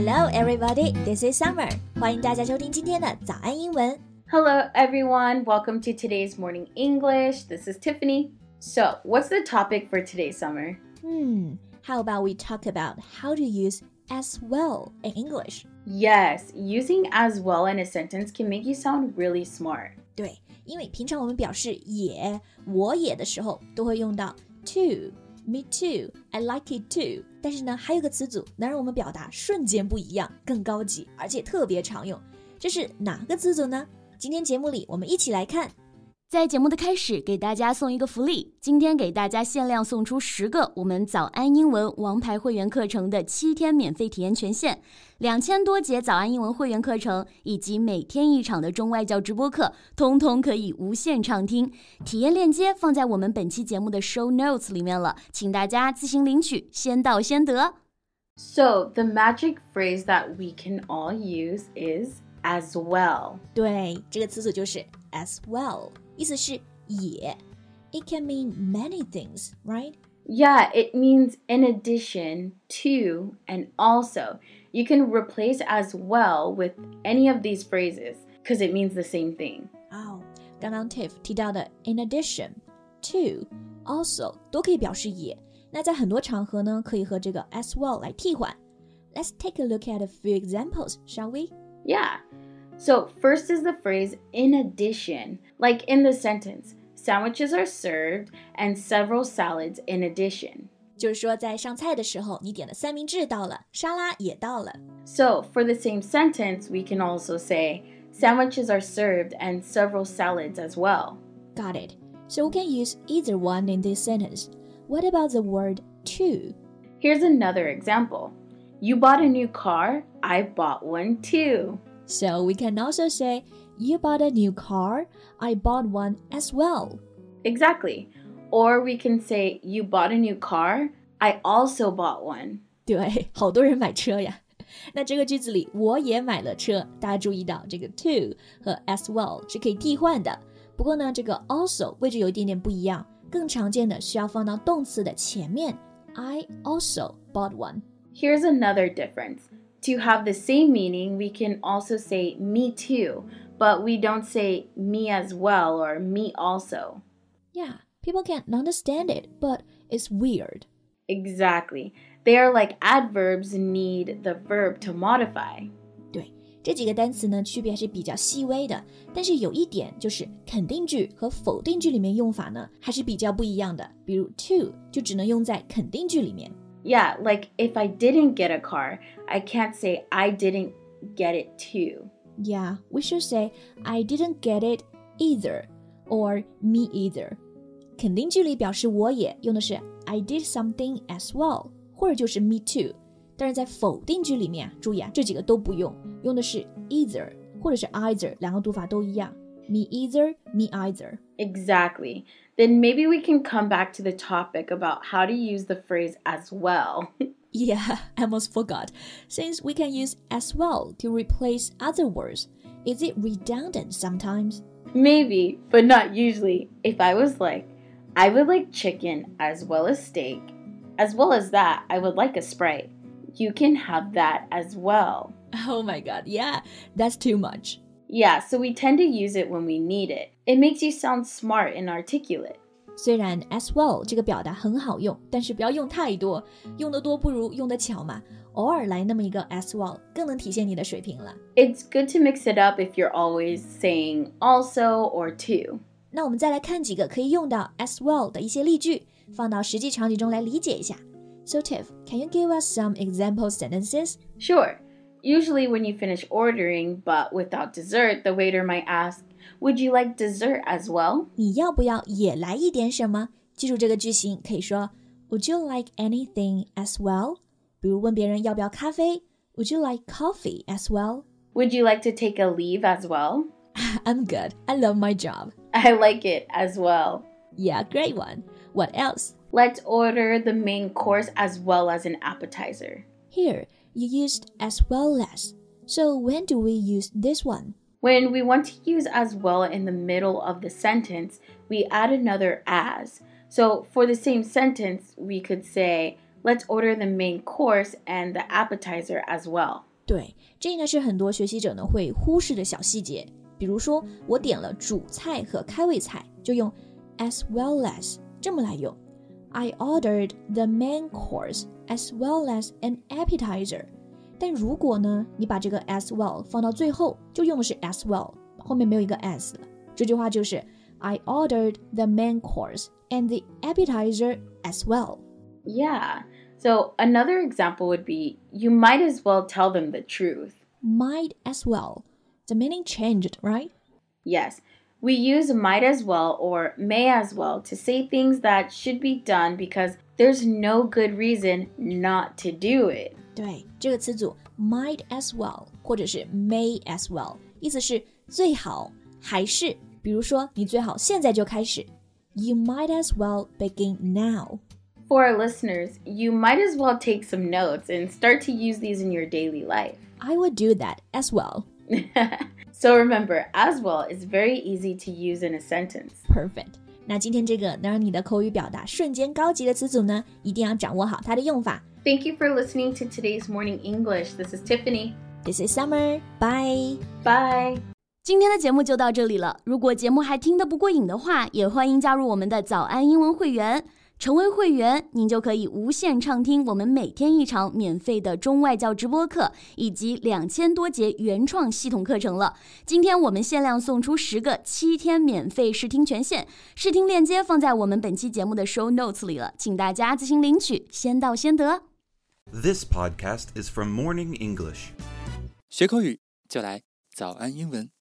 Hello, everybody. This is Summer. 欢迎大家收听今天的早安英文。 Hello, everyone. Welcome to today's morning English. This is Tiffany. So, what's the topic for today's summer? How about we talk about how to use as well in English? Yes, using as well in a sentence can make you sound really smart. 对，因为平常我们表示也、我也的时候，都会用到 to。Me too, I like it too. 但是呢，还有个词组能让我们表达瞬间不一样，更高级，而且特别常用。这是哪个词组呢？今天节目里我们一起来看。 在节目的开始，给大家送一个福利，今天给大家限量送出10个我们早安英文王牌会员课程的7天免费体验权限，2000多节早安英文会员课程以及每天1场的中外教直播课，通通可以无限畅听。体验链接放在我们本期节目的 show notes 里面了，请大家自行领取，先到先得。 So, the magic phrase that we can all use is as well. 对，这个词组就是 as well， 意思是也。It can mean many things, right? Yeah, it means in addition to and also. You can replace as well with any of these phrases because it means the same thing. 刚刚 Tiff 提到的 in addition, to, also 都可以表示也。那在很多场合呢，可以和这个 as well 来替换。Let's take a look at a few examples, shall we? Yeah. So first is the phrase in addition. Like in the sentence, sandwiches are served and several salads in addition. 就是说在上菜的时候，你点的三明治到了，沙拉也到了。 So for the same sentence, we can also say sandwiches are served and several salads as well. Got it. So we can use either one in this sentence. What about the word to? Here's another example. You bought a new car, I bought one too. So we can also say, you bought a new car, I bought one as well. Exactly. Or we can say, you bought a new car, I also bought one. 对，好多人买车呀。那这个句子里，我也买了车，大家注意到这个 to 和 as well 是可以替换的。不过呢，这个 also 位置有一点点不一样，更常见的需要放到动词的前面。I also bought one. Here's another difference. To have the same meaning, we can also say me too, but we don't say me as well or me also. Yeah, people can't understand it, but it's weird. Exactly. They are like adverbs need the verb to modify. 对，这几个单词呢，区别还是比较细微的，但是有一点就是肯定句和否定句里面用法呢，还是比较不一样的。比如 to 就只能用在肯定句里面。 Yeah, like if I didn't get a car, I can't say I didn't get it too. Yeah, we should say I didn't get it either or me either. 肯定句里表示我也用的是 I did something as well 或者就是 me too. 但是在否定句里面注意这几个都不用，用的是 either 或者是 either， 两个读法都一样。Me either, me either. Exactly. Then maybe we can come back to the topic about how to use the phrase as well. Yeah, I almost forgot. Since we can use as well to replace other words, is it redundant sometimes? Maybe, but not usually. If I was like, I would like chicken as well as steak. As well as that, I would like a Sprite. You can have that as well. Oh my god, yeah, that's too much. Yeah, so we tend to use it when we need it. It makes you sound smart and articulate. 虽然 as well 这个表达很好用，但是不要用太多，用得多不如用得巧嘛。偶尔来那么一个 as well 更能体现你的水平了。 It's good to mix it up if you're always saying also or to. 那我们再来看几个可以用到 as well 的一些例句，放到实际场景中来理解一下。So Tiff, can you give us some example sentences? Sure. Usually when you finish ordering, but without dessert, the waiter might ask, Would you like dessert as well? 你要不要也来一点什么？记住这个句型，可以说 Would you like anything as well? 比如问别人要不要咖啡 Would you like coffee as well? Would you like to take a leave as well? I'm good. I love my job. I like it as well. Yeah, great one. What else? Let's order the main course as well as an appetizer. Here, you used as well as. So when do we use this one? When we want to use as well in the middle of the sentence, we add another as. So for the same sentence, we could say, let's order the main course and the appetizer as well. 对，这应该是很多学习者呢会忽视的小细节。比如说，我点了主菜和开胃菜，就用 as well as 这么来用。I ordered the main course as well as an appetizer。但如果呢，你把这个 as well 放到最后，就用的是 as well， 后面没有一个 as 了。这句话就是 I ordered the main course and the appetizer as well. Yeah. So another example would be, you might as well tell them the truth. Might as well. The meaning changed, right? Yes. We use might as well or may as well to say things that should be done because there's no good reason not to do it. 对，这个词组 might as well 或者是 may as well 意思是最好还是比如说你最好现在就开始 You might as well begin now. For our listeners, you might as well take some notes and start to use these in your daily life. I would do that as well. So remember, as well is very easy to use in a sentence. Perfect. 那今天这个能让你的口语表达瞬间高级的词组呢，一定要掌握好它的用法。 Thank you for listening to today's Morning English. This is Tiffany. This is Summer. Bye. Bye. 今天的节目就到这里了。如果节目还听得不过瘾的话，也欢迎加入我们的早安英文会员。成为会员，您就可以无限畅听我们每天一场免费的中外教直播课，以及2000多节原创系统课程了。今天我们限量送出10个7天免费试听权限，试听链接放在我们本期节目的 show notes 里了，请大家自行领取，先到先得。 This podcast is from Morning English. 学口语就来早安英文。